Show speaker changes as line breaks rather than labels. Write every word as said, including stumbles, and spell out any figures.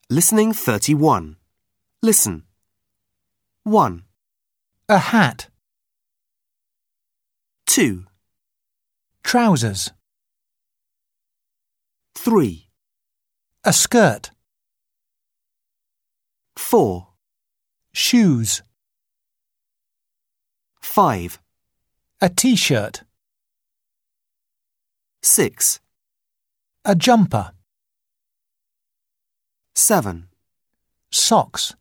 Listening thirty-one. Listen. one.
A hat.
two.
Trousers.
three.
A skirt.
four.
Shoes.
five.
A t-shirt.
six.
A jumper.
seven.
Socks.